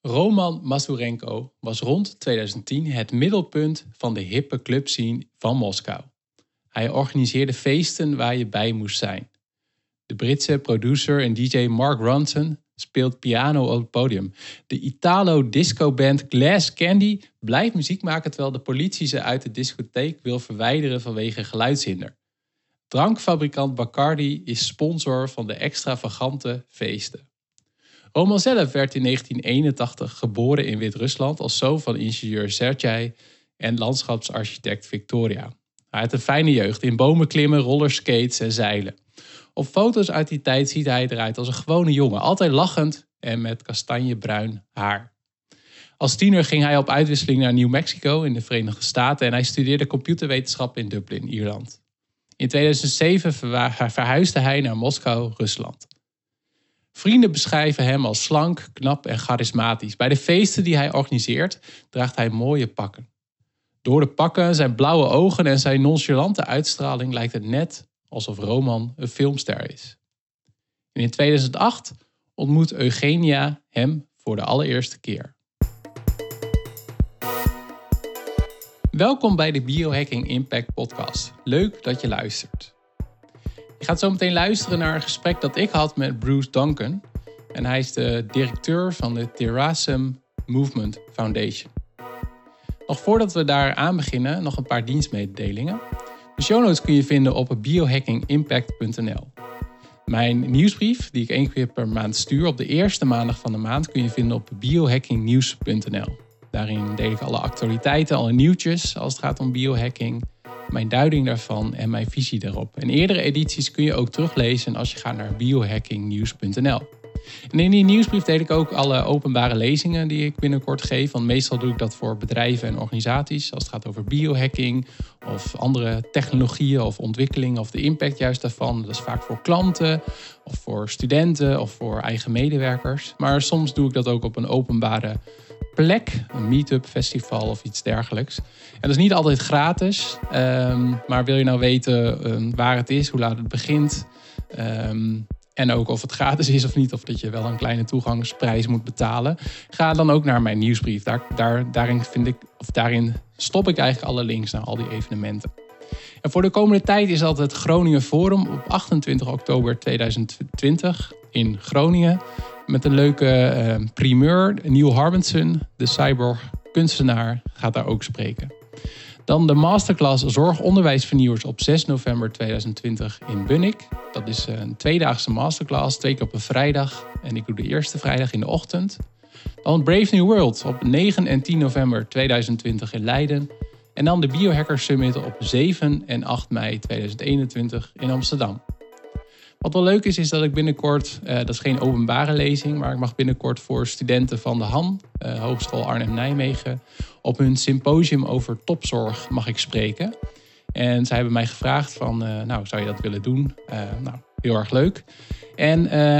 Roman Masurenko was rond 2010 het middelpunt van de hippe clubscene van Moskou. Hij organiseerde feesten waar je bij moest zijn. De Britse producer en DJ Mark Ronson speelt piano op het podium. De Italo-disco-band Glass Candy blijft muziek maken terwijl de politie ze uit de discotheek wil verwijderen vanwege geluidshinder. Drankfabrikant Bacardi is sponsor van de extravagante feesten. Roman zelf werd in 1981 geboren in Wit-Rusland als zoon van ingenieur Sergej en landschapsarchitect Victoria. Hij had een fijne jeugd in bomen klimmen, rollerskates en zeilen. Op foto's uit die tijd ziet hij eruit als een gewone jongen, altijd lachend en met kastanjebruin haar. Als tiener ging hij op uitwisseling naar New Mexico in de Verenigde Staten en hij studeerde computerwetenschap in Dublin, Ierland. In 2007 verhuisde hij naar Moskou, Rusland. Vrienden beschrijven hem als slank, knap en charismatisch. Bij de feesten die hij organiseert draagt hij mooie pakken. Door de pakken, zijn blauwe ogen en zijn nonchalante uitstraling lijkt het net alsof Roman een filmster is. En in 2008 ontmoet Eugenia hem voor de allereerste keer. Welkom bij de Biohacking Impact Podcast. Leuk dat je luistert. Je gaat zo meteen luisteren naar een gesprek dat ik had met Bruce Duncan. En hij is de directeur van de Terasem Movement Foundation. Nog voordat we daar aan beginnen, nog een paar dienstmededelingen. De show notes kun je vinden op biohackingimpact.nl. Mijn nieuwsbrief, die ik 1 keer per maand stuur op de eerste maandag van de maand, kun je vinden op biohackingnieuws.nl. Daarin deel ik alle actualiteiten, alle nieuwtjes als het gaat om biohacking, mijn duiding daarvan en mijn visie daarop. En eerdere edities kun je ook teruglezen als je gaat naar biohackingnieuws.nl. En in die nieuwsbrief deel ik ook alle openbare lezingen die ik binnenkort geef. Want meestal doe ik dat voor bedrijven en organisaties. Als het gaat over biohacking of andere technologieën of ontwikkelingen of de impact juist daarvan. Dat is vaak voor klanten of voor studenten of voor eigen medewerkers. Maar soms doe ik dat ook op een openbare plek, een meetup, festival of iets dergelijks. En dat is niet altijd gratis, maar wil je nou weten waar het is, hoe laat het begint, en ook of het gratis is of niet, of dat je wel een kleine toegangsprijs moet betalen, ga dan ook naar mijn nieuwsbrief. Daarin stop ik eigenlijk alle links naar al die evenementen. En voor de komende tijd is dat het Groningen Forum op 28 oktober 2020 in Groningen. Met een leuke primeur. Neil Harbinson, de cyborg kunstenaar, gaat daar ook spreken. Dan de masterclass Zorgonderwijsvernieuwers op 6 november 2020 in Bunnik. Dat is een 2-daagse masterclass, 2 keer op een vrijdag. En ik doe de eerste vrijdag in de ochtend. Dan Brave New World op 9 en 10 november 2020 in Leiden. En dan de Biohacker Summit op 7 en 8 mei 2021 in Amsterdam. Wat wel leuk is dat ik binnenkort, dat is geen openbare lezing, maar ik mag binnenkort voor studenten van de HAN, Hogeschool Arnhem-Nijmegen, op hun symposium over topzorg mag ik spreken. En zij hebben mij gevraagd van, zou je dat willen doen? Heel erg leuk. En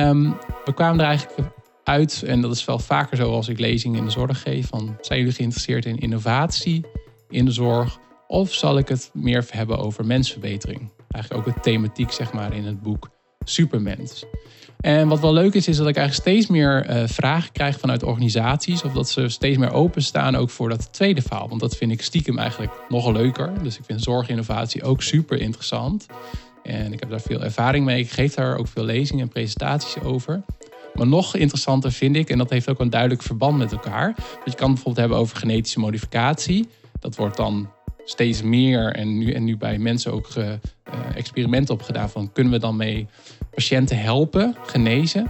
we kwamen er eigenlijk uit, en dat is wel vaker zo als ik lezingen in de zorg geef, van zijn jullie geïnteresseerd in innovatie in de zorg? Of zal ik het meer hebben over mensverbetering? Eigenlijk ook de thematiek zeg maar in het boek Supermens. En wat wel leuk is dat ik eigenlijk steeds meer vragen krijg vanuit organisaties. Of dat ze steeds meer openstaan ook voor dat tweede verhaal. Want dat vind ik stiekem eigenlijk nog leuker. Dus ik vind zorginnovatie ook super interessant. En ik heb daar veel ervaring mee. Ik geef daar ook veel lezingen en presentaties over. Maar nog interessanter vind ik, en dat heeft ook een duidelijk verband met elkaar. Dat je kan bijvoorbeeld hebben over genetische modificatie. Dat wordt dan steeds meer en nu bij mensen ook experimenten op gedaan van kunnen we dan mee patiënten helpen, genezen.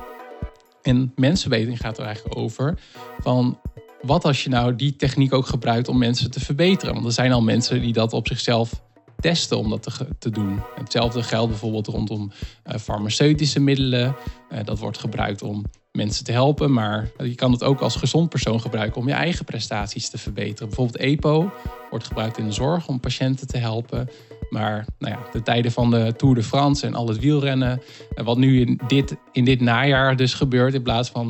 En mensenverbetering gaat er eigenlijk over van wat als je nou die techniek ook gebruikt om mensen te verbeteren. Want er zijn al mensen die dat op zichzelf testen om dat te doen. Hetzelfde geldt bijvoorbeeld rondom farmaceutische middelen. Dat wordt gebruikt om mensen te helpen, maar je kan het ook als gezond persoon gebruiken om je eigen prestaties te verbeteren. Bijvoorbeeld EPO wordt gebruikt in de zorg om patiënten te helpen. Maar de tijden van de Tour de France en al het wielrennen, wat nu in dit najaar dus gebeurt, in plaats van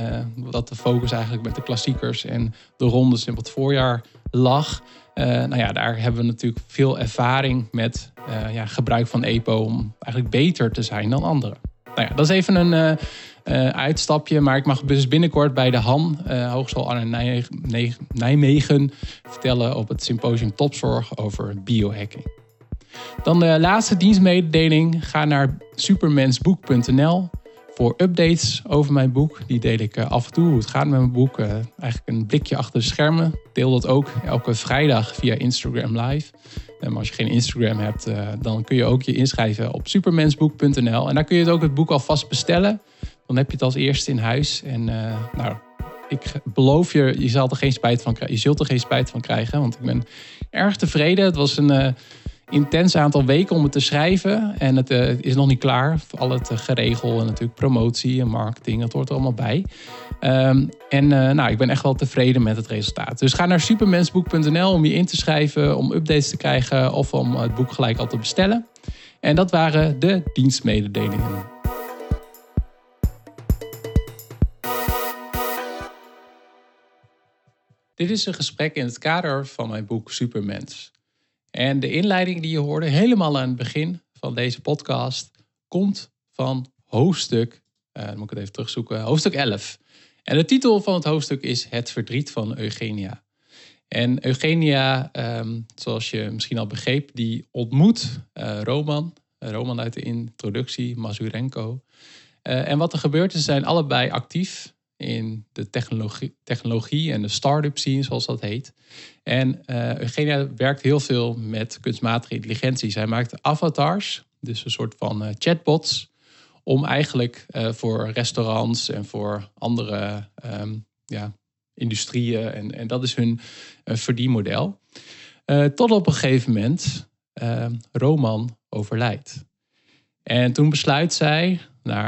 dat de focus eigenlijk met de klassiekers en de rondes in het voorjaar lag. Daar hebben we natuurlijk veel ervaring met gebruik van EPO om eigenlijk beter te zijn dan anderen. Dat is even uitstapje. Maar ik mag dus binnenkort bij de Han, Hogeschool Arnhem-Nijmegen, vertellen op het symposium Topzorg over biohacking. Dan de laatste dienstmededeling. Ga naar supermensboek.nl voor updates over mijn boek. Die deel ik af en toe, hoe het gaat met mijn boek. Eigenlijk een blikje achter de schermen. Ik deel dat ook elke vrijdag via Instagram Live. Maar als je geen Instagram hebt, dan kun je ook je inschrijven op supermensboek.nl. En daar kun je ook het boek alvast bestellen. Dan heb je het als eerste in huis. En ik beloof je, je zult er geen spijt van krijgen. Want ik ben erg tevreden. Het was een intens aantal weken om het te schrijven. En het is nog niet klaar. Al het geregel en natuurlijk promotie en marketing. Dat hoort er allemaal bij. Ik ben echt wel tevreden met het resultaat. Dus ga naar supermensboek.nl om je in te schrijven, om updates te krijgen of om het boek gelijk al te bestellen. En dat waren de dienstmededelingen. Dit is een gesprek in het kader van mijn boek Supermens. En de inleiding die je hoorde helemaal aan het begin van deze podcast komt van hoofdstuk, dan moet ik het even terugzoeken, hoofdstuk 11. En de titel van het hoofdstuk is Het verdriet van Eugenia. En Eugenia, zoals je misschien al begreep, die ontmoet Roman uit de introductie, Mazurenko. En wat er gebeurt is, ze zijn allebei actief in de technologie en de start-up scene, zoals dat heet. En Eugenia werkt heel veel met kunstmatige intelligentie. Zij maakt avatars, dus een soort van chatbots, om eigenlijk voor restaurants en voor andere industrieën, en dat is hun verdienmodel. Tot op een gegeven moment Roman overlijdt. En toen besluit zij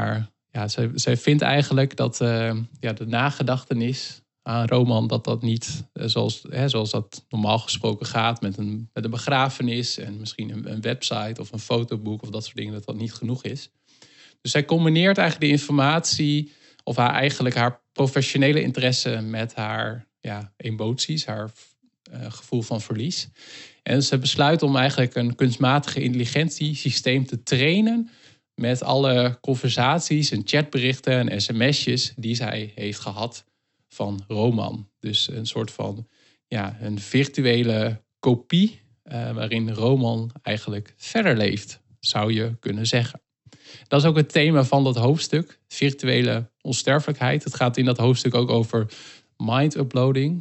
zij vindt eigenlijk dat de nagedachtenis aan Roman, dat niet zoals dat normaal gesproken gaat met een begrafenis en misschien een website of een fotoboek of dat soort dingen, dat niet genoeg is. Dus zij combineert eigenlijk de informatie of haar professionele interesse met haar emoties, haar gevoel van verlies. En ze besluit om eigenlijk een kunstmatige intelligentiesysteem te trainen met alle conversaties en chatberichten en sms'jes die zij heeft gehad van Roman. Dus een soort van een virtuele kopie waarin Roman eigenlijk verder leeft, zou je kunnen zeggen. Dat is ook het thema van dat hoofdstuk, virtuele onsterfelijkheid. Het gaat in dat hoofdstuk ook over mind-uploading.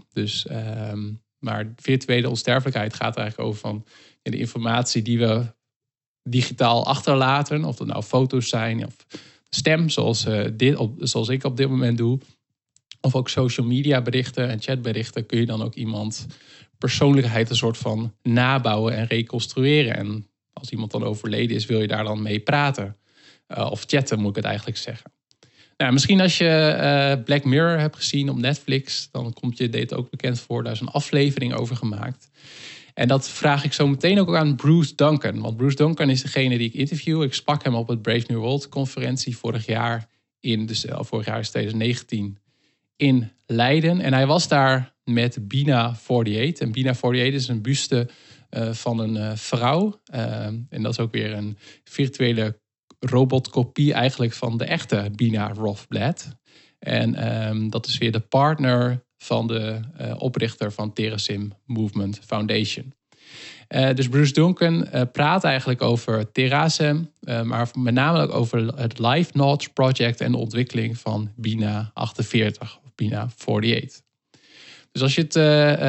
Maar virtuele onsterfelijkheid gaat er eigenlijk over van de informatie die we digitaal achterlaten. Of dat nou foto's zijn of stem, zoals ik op dit moment doe. Of ook social media berichten en chatberichten kun je dan ook iemand persoonlijkheid een soort van nabouwen en reconstrueren. En als iemand dan overleden is, wil je daar dan mee praten. Of chatten, moet ik het eigenlijk zeggen. Nou, misschien als je Black Mirror hebt gezien op Netflix, dan komt je dit ook bekend voor. Daar is een aflevering over gemaakt. En dat vraag ik zo meteen ook aan Bruce Duncan. Want Bruce Duncan is degene die ik interview. Ik sprak hem op het Brave New World conferentie vorig jaar is 2019 in Leiden. En hij was daar met Bina 48. En Bina 48 is een buste van een vrouw. En dat is ook weer een virtuele robotkopie eigenlijk van de echte Bina Rothblatt. En dat is weer de partner van de oprichter van Terasim Movement Foundation. Dus Bruce Duncan praat eigenlijk over Terasim, maar met name ook over het Life Notes Project en de ontwikkeling van Bina 48 of Bina 48. Dus als je het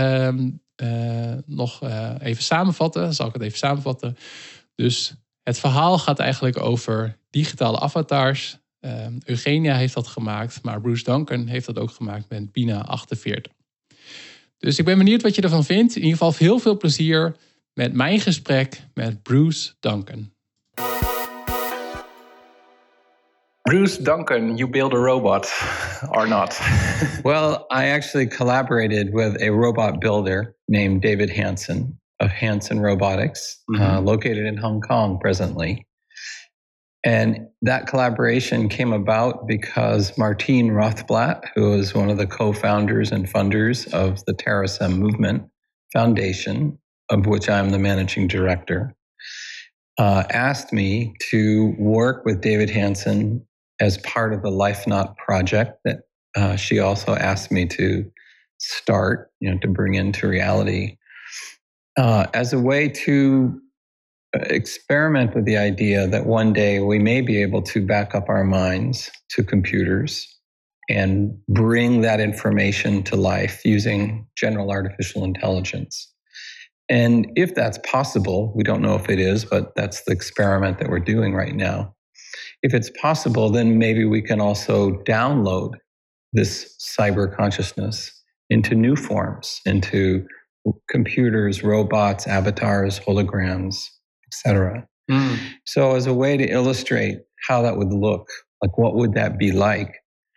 nog even samenvatten, zal ik het even samenvatten. Dus het verhaal gaat eigenlijk over digitale avatars. Eugenia heeft dat gemaakt, maar Bruce Duncan heeft dat ook gemaakt met Bina 48. Dus ik ben benieuwd wat je ervan vindt. In ieder geval heel veel plezier met mijn gesprek met Bruce Duncan. Bruce Duncan, you build a robot or not? Well, I actually collaborated with a robot builder named David Hansen of Hansen Robotics, located in Hong Kong presently. And that collaboration came about because Martine Rothblatt, who is one of the co-founders and funders of the Terasim Movement Foundation, of which I'm the managing director, asked me to work with David Hansen as part of the Life Knot project that she also asked me to start, to bring into reality, as a way to experiment with the idea that one day we may be able to back up our minds to computers and bring that information to life using general artificial intelligence. And if that's possible, we don't know if it is, but that's the experiment that we're doing right now. If it's possible, then maybe we can also download this cyber consciousness into new forms, into computers, robots, avatars, holograms, etc. So as a way to illustrate how that would look, like what would that be like,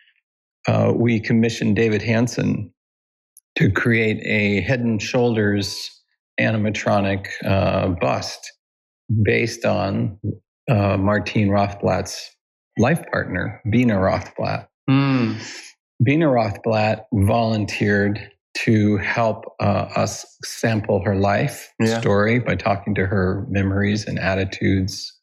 we commissioned David Hansen to create a Head and Shoulders animatronic bust based on Martine Rothblatt's life partner, Bina Rothblatt. Bina Rothblatt volunteered to help us sample her life story by talking to her memories and attitudes,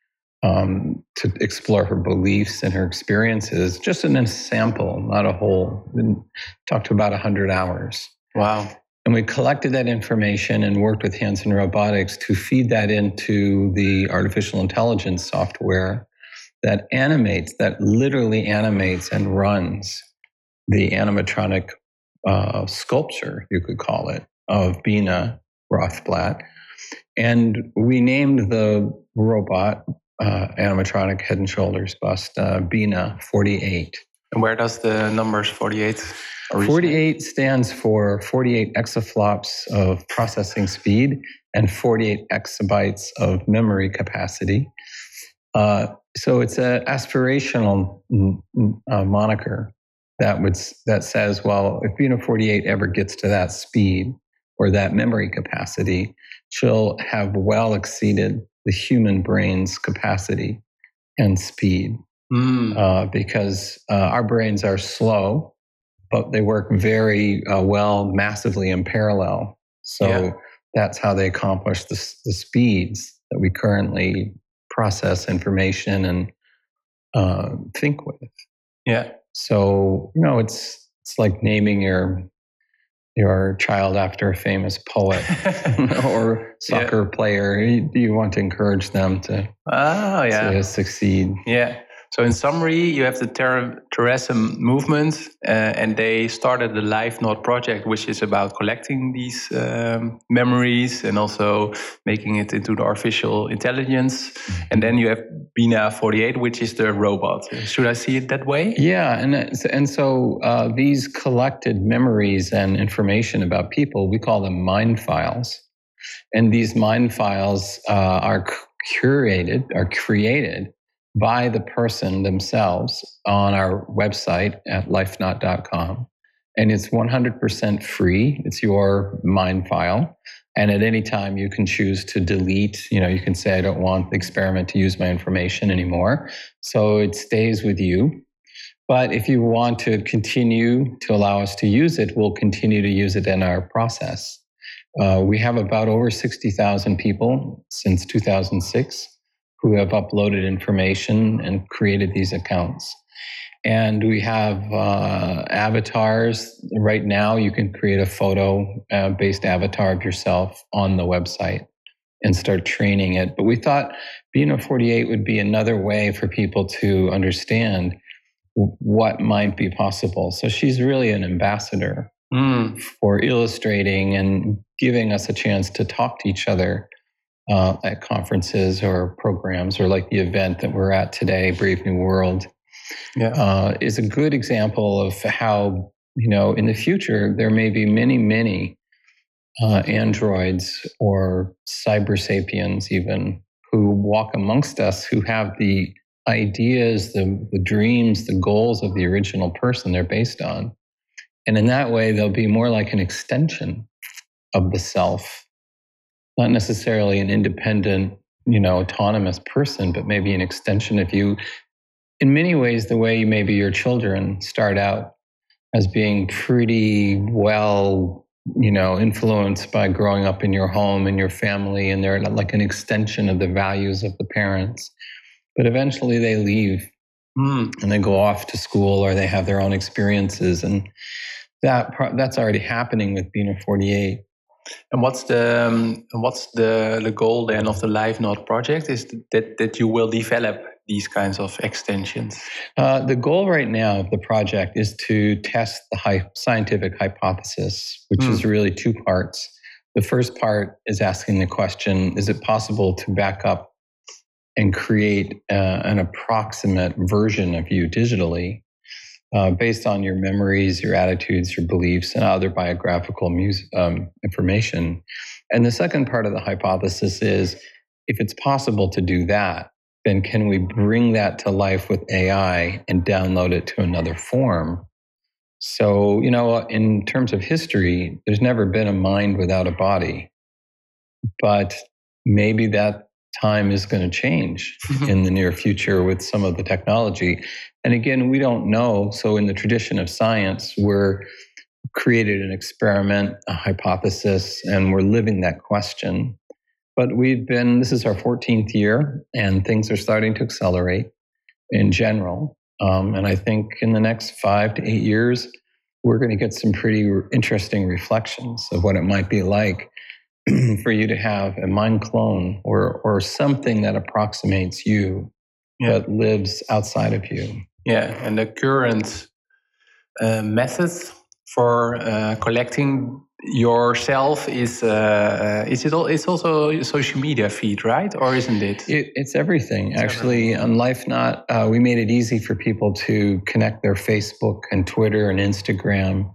to explore her beliefs and her experiences, just in a sample, not a whole. We talked to about 100 hours. Wow. And we collected that information and worked with Hansen Robotics to feed that into the artificial intelligence software that literally animates and runs the animatronic sculpture, you could call it, of Bina Rothblatt. And we named the robot animatronic Head and Shoulders bust Bina 48. And where does the numbers 48 originate? 48 stands for 48 exaflops of processing speed and 48 exabytes of memory capacity. So it's an aspirational moniker that says, well, if Bina 48 ever gets to that speed or that memory capacity, she'll have well exceeded the human brain's capacity and speed. Because our brains are slow, but they work very well, massively in parallel. So that's how they accomplish the speeds that we currently process information and think with. Yeah. So, it's like naming your child after a famous poet or soccer player. You want to encourage them to succeed. Yeah. So in summary, you have the Terrassum movement, and they started the Life Knot project, which is about collecting these memories and also making it into the artificial intelligence. And then you have Bina 48, which is the robot. Should I see it that way? Yeah, and so these collected memories and information about people, we call them mind files. And these mind files are created by the person themselves on our website at lifeknot.com. And it's 100% free. It's your mind file. And at any time you can choose to delete, you can say, I don't want the experiment to use my information anymore. So it stays with you. But if you want to continue to allow us to use it, we'll continue to use it in our process. We have about over 60,000 people since 2006 who have uploaded information and created these accounts. And we have avatars. Right now, you can create a photo-based avatar of yourself on the website and start training it. But we thought Bina 48 would be another way for people to understand what might be possible. So she's really an ambassador for illustrating and giving us a chance to talk to each other at conferences or programs, or like the event that we're at today, Brave New World, is a good example of how, in the future, there may be many, many androids or cyber sapiens even who walk amongst us, who have the ideas, the dreams, the goals of the original person they're based on. And in that way, they'll be more like an extension of the self. Not necessarily an independent, autonomous person, but maybe an extension of you. In many ways, the way maybe your children start out as being pretty well, influenced by growing up in your home and your family, and they're like an extension of the values of the parents. But eventually they leave and they go off to school or they have their own experiences, and that's already happening with Bina 48. And what's the goal then of the LiveNode project? Is that you will develop these kinds of extensions? The goal right now of the project is to test the scientific hypothesis, which is really two parts. The first part is asking the question, is it possible to back up and create an approximate version of you digitally based on your memories, your attitudes, your beliefs, and other biographical information? And the second part of the hypothesis is, if it's possible to do that, then can we bring that to life with AI and download it to another form? So, in terms of history, there's never been a mind without a body. But maybe that time is going to change in the near future with some of the technology. And again, we don't know. So in the tradition of science, we're created an experiment, a hypothesis, and we're living that question. But this is our 14th year, and things are starting to accelerate in general. And I think in the next 5 to 8 years, we're going to get some pretty interesting reflections of what it might be like for you to have a mind clone or something that approximates you, but lives outside of you. Yeah, and the current method for collecting yourself is it's also a social media feed, right? Or isn't it? It's everything. Actually, on LifeNot, we made it easy for people to connect their Facebook and Twitter and Instagram,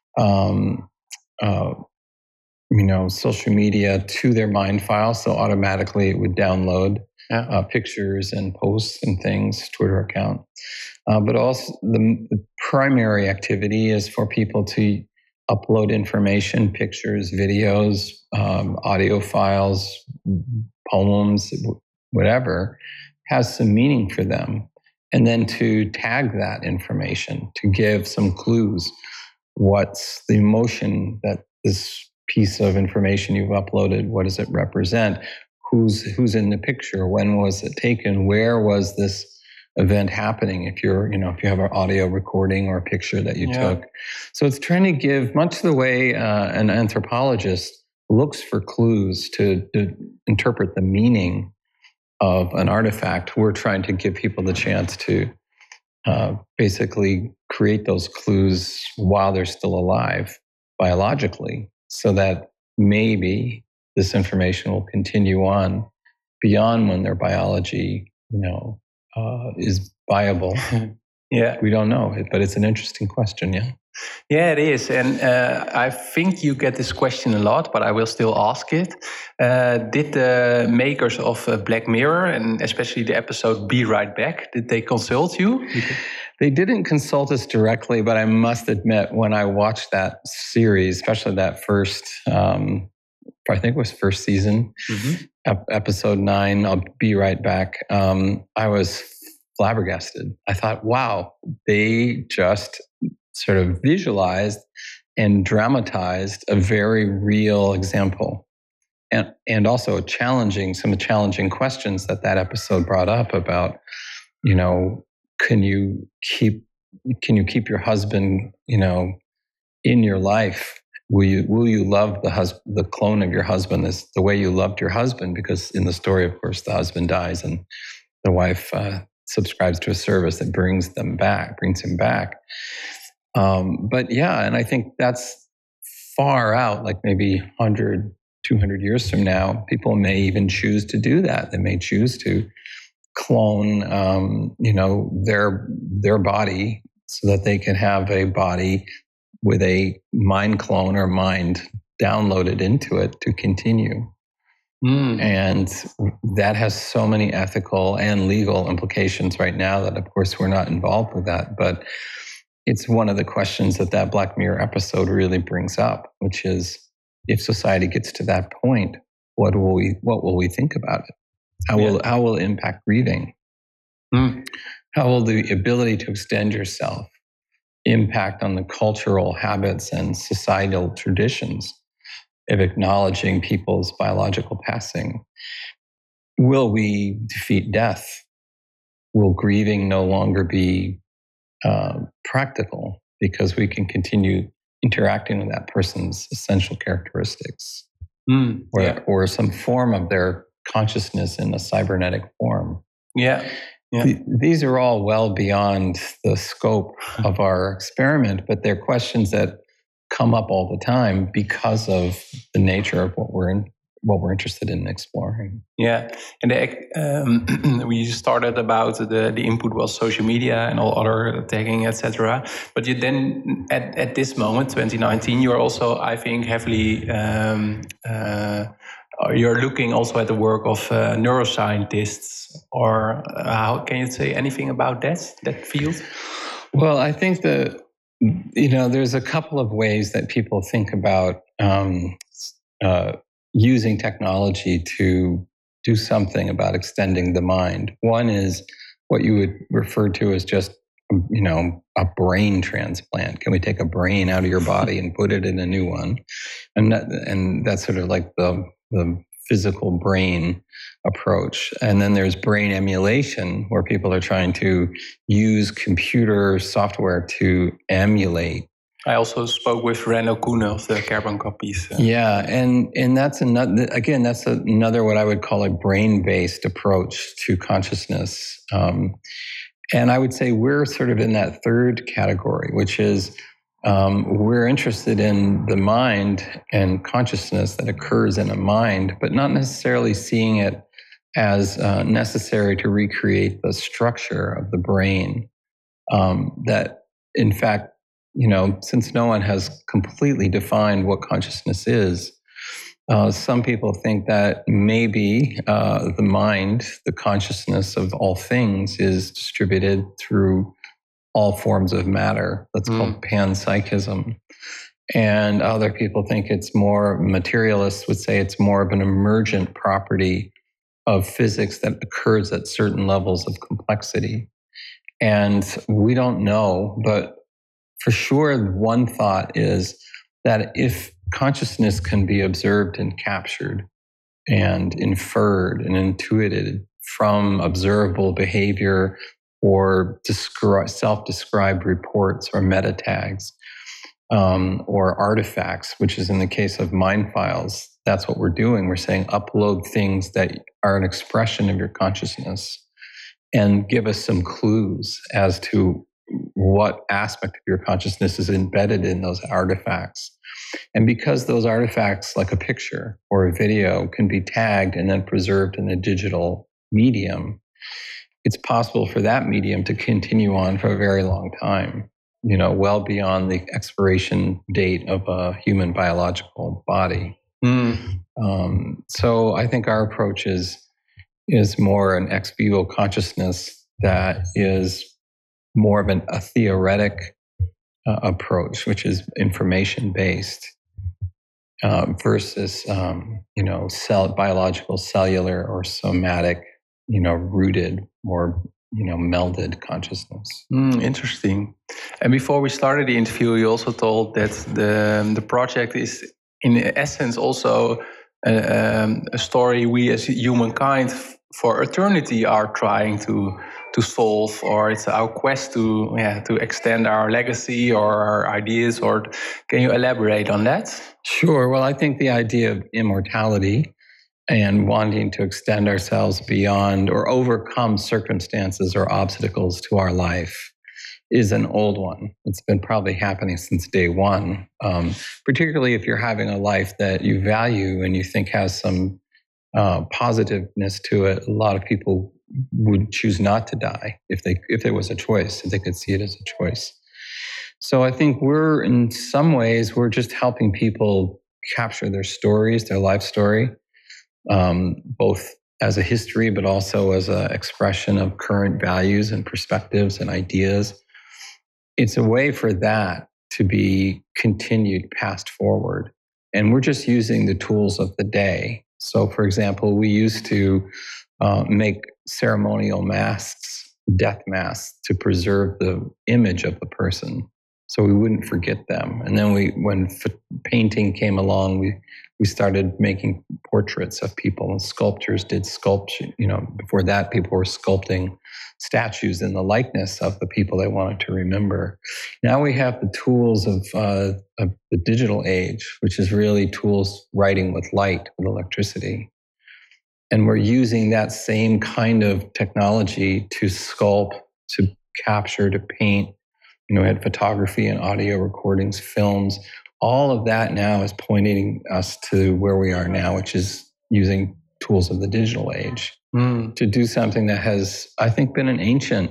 social media to their Mind file. So automatically it would download pictures and posts and things, Twitter account. But also the primary activity is for people to upload information, pictures, videos, audio files, poems, whatever has some meaning for them. And then to tag that information, to give some clues. What's the emotion that this piece of information you've uploaded, what does it represent? Who's in the picture? When was it taken? Where was this event happening? If you have an audio recording or a picture that you took. So it's trying to give, much the way an anthropologist looks for clues to interpret the meaning of an artifact, we're trying to give people the chance to basically create those clues while they're still alive biologically, so that maybe this information will continue on beyond when their biology, is viable. We don't know it, but it's an interesting question. Yeah, it is. And I think you get this question a lot, but I will still ask it. Did the makers of Black Mirror, and especially the episode Be Right Back, did they consult you? They didn't consult us directly, but I must admit, when I watched that series, especially that first, I think it was first season, episode 9, I'll Be Right Back, I was flabbergasted. I thought, wow, they just sort of visualized and dramatized a very real example. And also some challenging questions that episode brought up about, can you keep your husband, in your life? Will you love the clone of your husband as the way you loved your husband? Because in the story, of course, the husband dies and the wife subscribes to a service that brings him back. But and I think that's far out, like maybe 100, 200 years from now, people may even choose to do that. They may choose to clone, their body so that they can have a body with a mind clone or mind downloaded into it to continue. And that has so many ethical and legal implications right now that, of course, we're not involved with that. But it's one of the questions that Black Mirror episode really brings up, which is, if society gets to that point, what will we think about it? How will it impact grieving? How will the ability to extend yourself impact on the cultural habits and societal traditions of acknowledging people's biological passing? Will we defeat death? will grieving no longer be practical because we can continue interacting with that person's essential characteristics or some form of their consciousness in a cybernetic form. Yeah. These are all well beyond the scope of our experiment, but they're questions that come up all the time because of the nature of what we're interested in exploring. Yeah, and we started about the input was social media and all other tagging, etc. But you then at this moment, 2019, you're also, I think, heavily you're looking also at the work of neuroscientists, or how can you say anything about that field? Well, I think that there's a couple of ways that people think about using technology to do something about extending the mind. One is what you would refer to as just, a brain transplant. Can we take a brain out of your body and put it in a new one? And that's sort of like the physical brain approach. And then there's brain emulation, where people are trying to use computer software to emulate. I also spoke with Renno Koene of the Carbon Copies. Yeah, and that's another what I would call a brain-based approach to consciousness. And I would say we're sort of in that third category, which is we're interested in the mind and consciousness that occurs in a mind, but not necessarily seeing it as necessary to recreate the structure of the brain. That, in fact, since no one has completely defined what consciousness is, some people think that maybe the mind, the consciousness of all things, is distributed through all forms of matter. That's called panpsychism. And other people think it's more, materialists would say it's more of an emergent property of physics that occurs at certain levels of complexity. And we don't know, but for sure, one thought is that if consciousness can be observed and captured and inferred and intuited from observable behavior or self-described reports or meta tags or artifacts, which is in the case of mind files, that's what we're doing. We're saying upload things that are an expression of your consciousness and give us some clues as to what aspect of your consciousness is embedded in those artifacts. And because those artifacts, like a picture or a video, can be tagged and then preserved in a digital medium, it's possible for that medium to continue on for a very long time, well beyond the expiration date of a human biological body. So I think our approach is more an ex vivo consciousness that is more of a theoretic approach, which is information-based, versus, biological, cellular, or somatic, rooted, more, melded consciousness. Interesting. And before we started the interview, you also told that the project is, in essence, also a story we as humankind for eternity are trying to solve, or it's our quest to extend our legacy or our ideas. Or can you elaborate on that? Sure. Well, I think the idea of immortality and wanting to extend ourselves beyond or overcome circumstances or obstacles to our life is an old one. It's been probably happening since day one, particularly if you're having a life that you value and you think has some positiveness to it. A lot of people would choose not to die if there was a choice, if they could see it as a choice. So I think in some ways, we're just helping people capture their stories, their life story, both as a history, but also as an expression of current values and perspectives and ideas. It's a way for that to be continued, passed forward. And we're just using the tools of the day. So, for example, we used to make ceremonial masks, death masks, to preserve the image of the person so we wouldn't forget them. And then when painting came along, we started making portraits of people, and sculptors did sculpture. Before that, people were sculpting statues in the likeness of the people they wanted to remember. Now we have the tools of the digital age, which is really tools writing with light, with electricity. And we're using that same kind of technology to sculpt, to capture, to paint. We had photography and audio recordings, films. All of that now is pointing us to where we are now, which is using tools of the digital age to do something that has, I think, been an ancient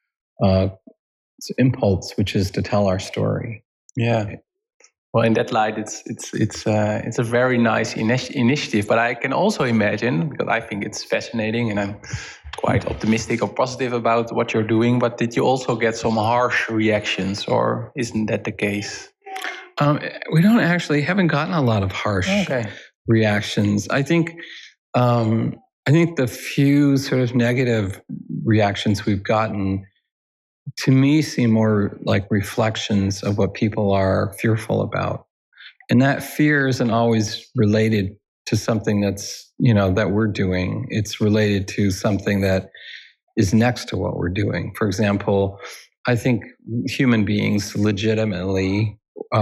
impulse, which is to tell our story. Yeah. Well, in that light, it's a very nice initiative. But I can also imagine, because I think it's fascinating, and I'm quite optimistic or positive about what you're doing. But did you also get some harsh reactions, or isn't that the case? We haven't gotten a lot of harsh reactions. I think the few sort of negative reactions we've gotten, to me, seem more like reflections of what people are fearful about. And that fear isn't always related to something that's, that we're doing. It's related to something that is next to what we're doing. For example, I think human beings legitimately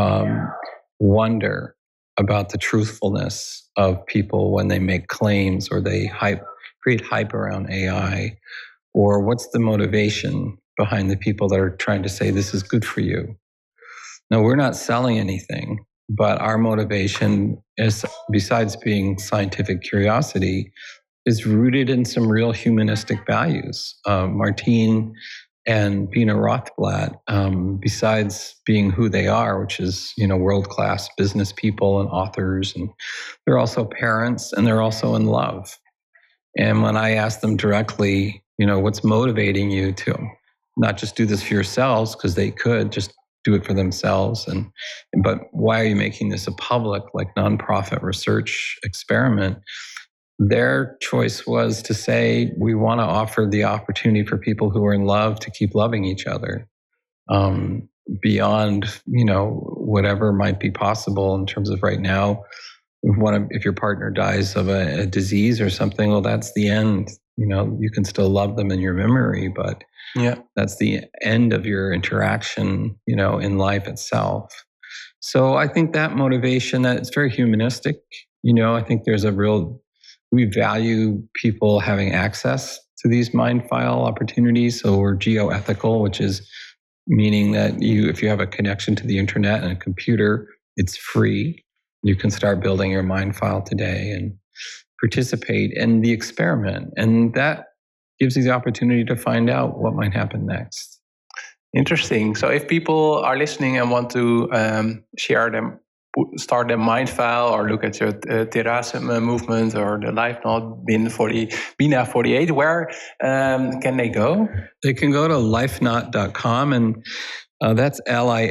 wonder about the truthfulness of people when they make claims or they create hype around AI, or what's the motivation behind the people that are trying to say this is good for you. No, we're not selling anything, but our motivation is, besides being scientific curiosity, is rooted in some real humanistic values. Martine and Bina Rothblatt, besides being who they are, which is, world-class business people and authors, and they're also parents, and they're also in love. And when I ask them directly, what's motivating you to not just do this for yourselves, because they could just do it for themselves, but why are you making this a public, like, nonprofit research experiment? Their choice was to say, we want to offer the opportunity for people who are in love to keep loving each other beyond, whatever might be possible in terms of right now. If your partner dies of a disease or something, well, that's the end. You can still love them in your memory, but that's the end of your interaction, in life itself. So I think that motivation, that it's very humanistic. I think there's we value people having access to these Mindfile opportunities. So we're geoethical, which is meaning that if you have a connection to the internet and a computer, it's free. You can start building your Mindfile today and participate in the experiment. And that gives you the opportunity to find out what might happen next. Interesting. So if people are listening and want to start their Mindfile or look at your Terrasse movement or the LifeNaut Bina 48, where can they go? They can go to lifenaut.com, and that's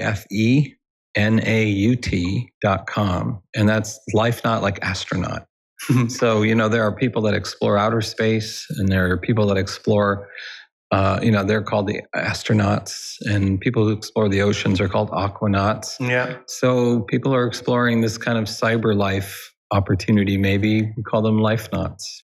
LIFENAUT.com. And that's Lifenaut, like astronaut. So, there are people that explore outer space, and there are people that explore, they're called the astronauts, and people who explore the oceans are called aquanauts. Yeah. So people are exploring this kind of cyber life opportunity. Maybe we call them lifenauts.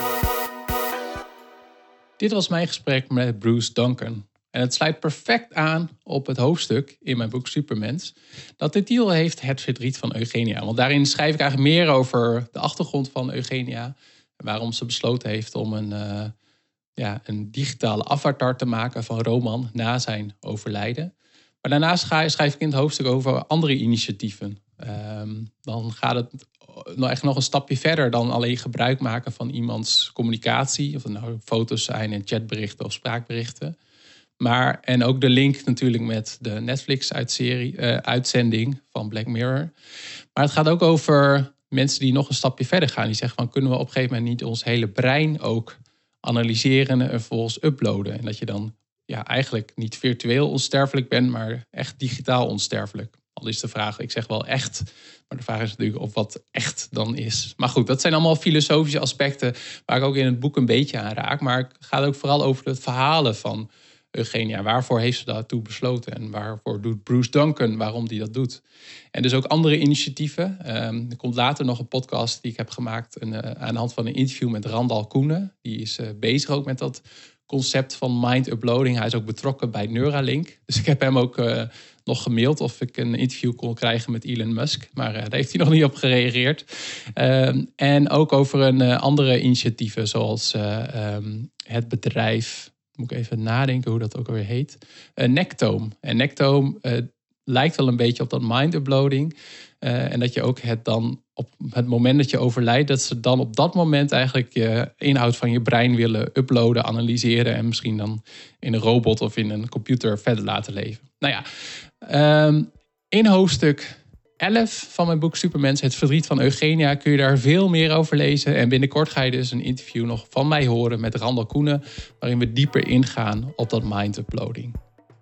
Dit was mijn gesprek met Bruce Duncan. En het sluit perfect aan op het hoofdstuk in mijn boek Supermens dat de titel heeft Het verdriet van Eugenia. Want daarin schrijf ik eigenlijk meer over de achtergrond van Eugenia. En waarom ze besloten heeft om een digitale avatar te maken van Roman na zijn overlijden. Maar daarnaast schrijf ik in het hoofdstuk over andere initiatieven. Dan gaat het echt nog een stapje verder dan alleen gebruik maken van iemands communicatie. Of het nou foto's zijn en chatberichten of spraakberichten. En ook de link natuurlijk met de Netflix-uitzending van Black Mirror. Maar het gaat ook over mensen die nog een stapje verder gaan. Die zeggen van, kunnen we op een gegeven moment niet ons hele brein ook analyseren en vervolgens uploaden? En dat je dan eigenlijk niet virtueel onsterfelijk bent, maar echt digitaal onsterfelijk. Al is de vraag, ik zeg wel echt, maar de vraag is natuurlijk of wat echt dan is. Maar goed, dat zijn allemaal filosofische aspecten waar ik ook in het boek een beetje aan raak. Maar het gaat ook vooral over het verhalen van Eugenia? Waarvoor heeft ze daartoe besloten? En waarvoor doet Bruce Duncan, waarom die dat doet? En dus ook andere initiatieven. Er komt later nog een podcast die ik heb gemaakt aan de hand van een interview met Randal Koenen. Die is bezig ook met dat concept van mind uploading. Hij is ook betrokken bij Neuralink. Dus ik heb hem ook nog gemaild of ik een interview kon krijgen met Elon Musk. Maar daar heeft hij nog niet op gereageerd. En ook over andere initiatieven zoals het bedrijf... Moet ik even nadenken hoe dat ook alweer heet. Nectome. En Nectome lijkt wel een beetje op dat mind uploading. En dat je ook het dan op het moment dat je overlijdt, dat ze dan op dat moment eigenlijk je inhoud van je brein willen uploaden, analyseren en misschien dan in een robot of in een computer verder laten leven. Nou ja, in hoofdstuk 11 van mijn boek Supermens, Het verdriet van Eugenia, kun je daar veel meer over lezen. En binnenkort ga je dus een interview nog van mij horen met Randal Koenen, waarin we dieper ingaan op dat mind uploading.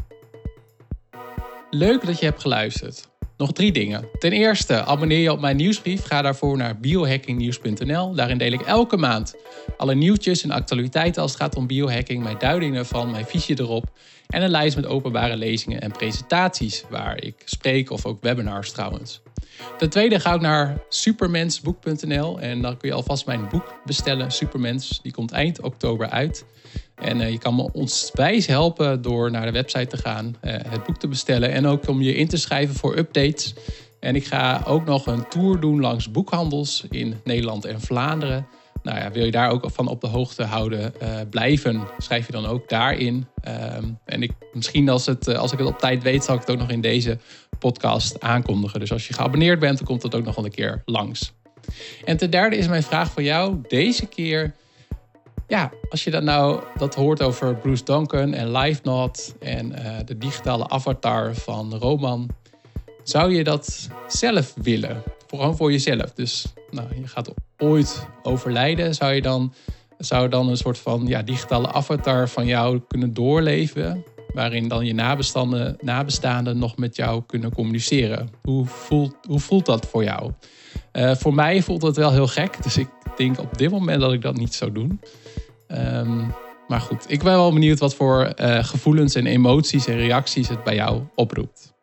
Leuk dat je hebt geluisterd. Nog 3 dingen. Ten eerste, abonneer je op mijn nieuwsbrief. Ga daarvoor naar biohackingnieuws.nl. Daarin deel ik elke maand alle nieuwtjes en actualiteiten als het gaat om biohacking, mijn duidingen ervan, mijn visie erop en een lijst met openbare lezingen en presentaties waar ik spreek of ook webinars trouwens. Ten tweede ga ik naar supermensboek.nl en dan kun je alvast mijn boek bestellen, Supermens. Die komt eind oktober uit. En je kan me onwijs helpen door naar de website te gaan, het boek te bestellen en ook om je in te schrijven voor updates. En ik ga ook nog een tour doen langs boekhandels in Nederland en Vlaanderen. Nou ja, wil je daar ook van op de hoogte houden blijven, schrijf je dan ook daarin. En misschien als ik het op tijd weet, zal ik het ook nog in deze podcast aankondigen. Dus als je geabonneerd bent, dan komt het ook nog wel een keer langs. En ten derde is mijn vraag voor jou deze keer. Ja, als je dat hoort over Bruce Duncan en LiveNode en de digitale avatar van Roman, zou je dat zelf willen? Gewoon voor jezelf. Dus je gaat ooit overlijden. Zou dan een soort van digitale avatar van jou kunnen doorleven, waarin dan je nabestaanden nog met jou kunnen communiceren? Hoe voelt dat voor jou? Voor mij voelt dat wel heel gek. Dus ik denk op dit moment dat ik dat niet zou doen. Maar goed, ik ben wel benieuwd wat voor gevoelens en emoties en reacties het bij jou oproept.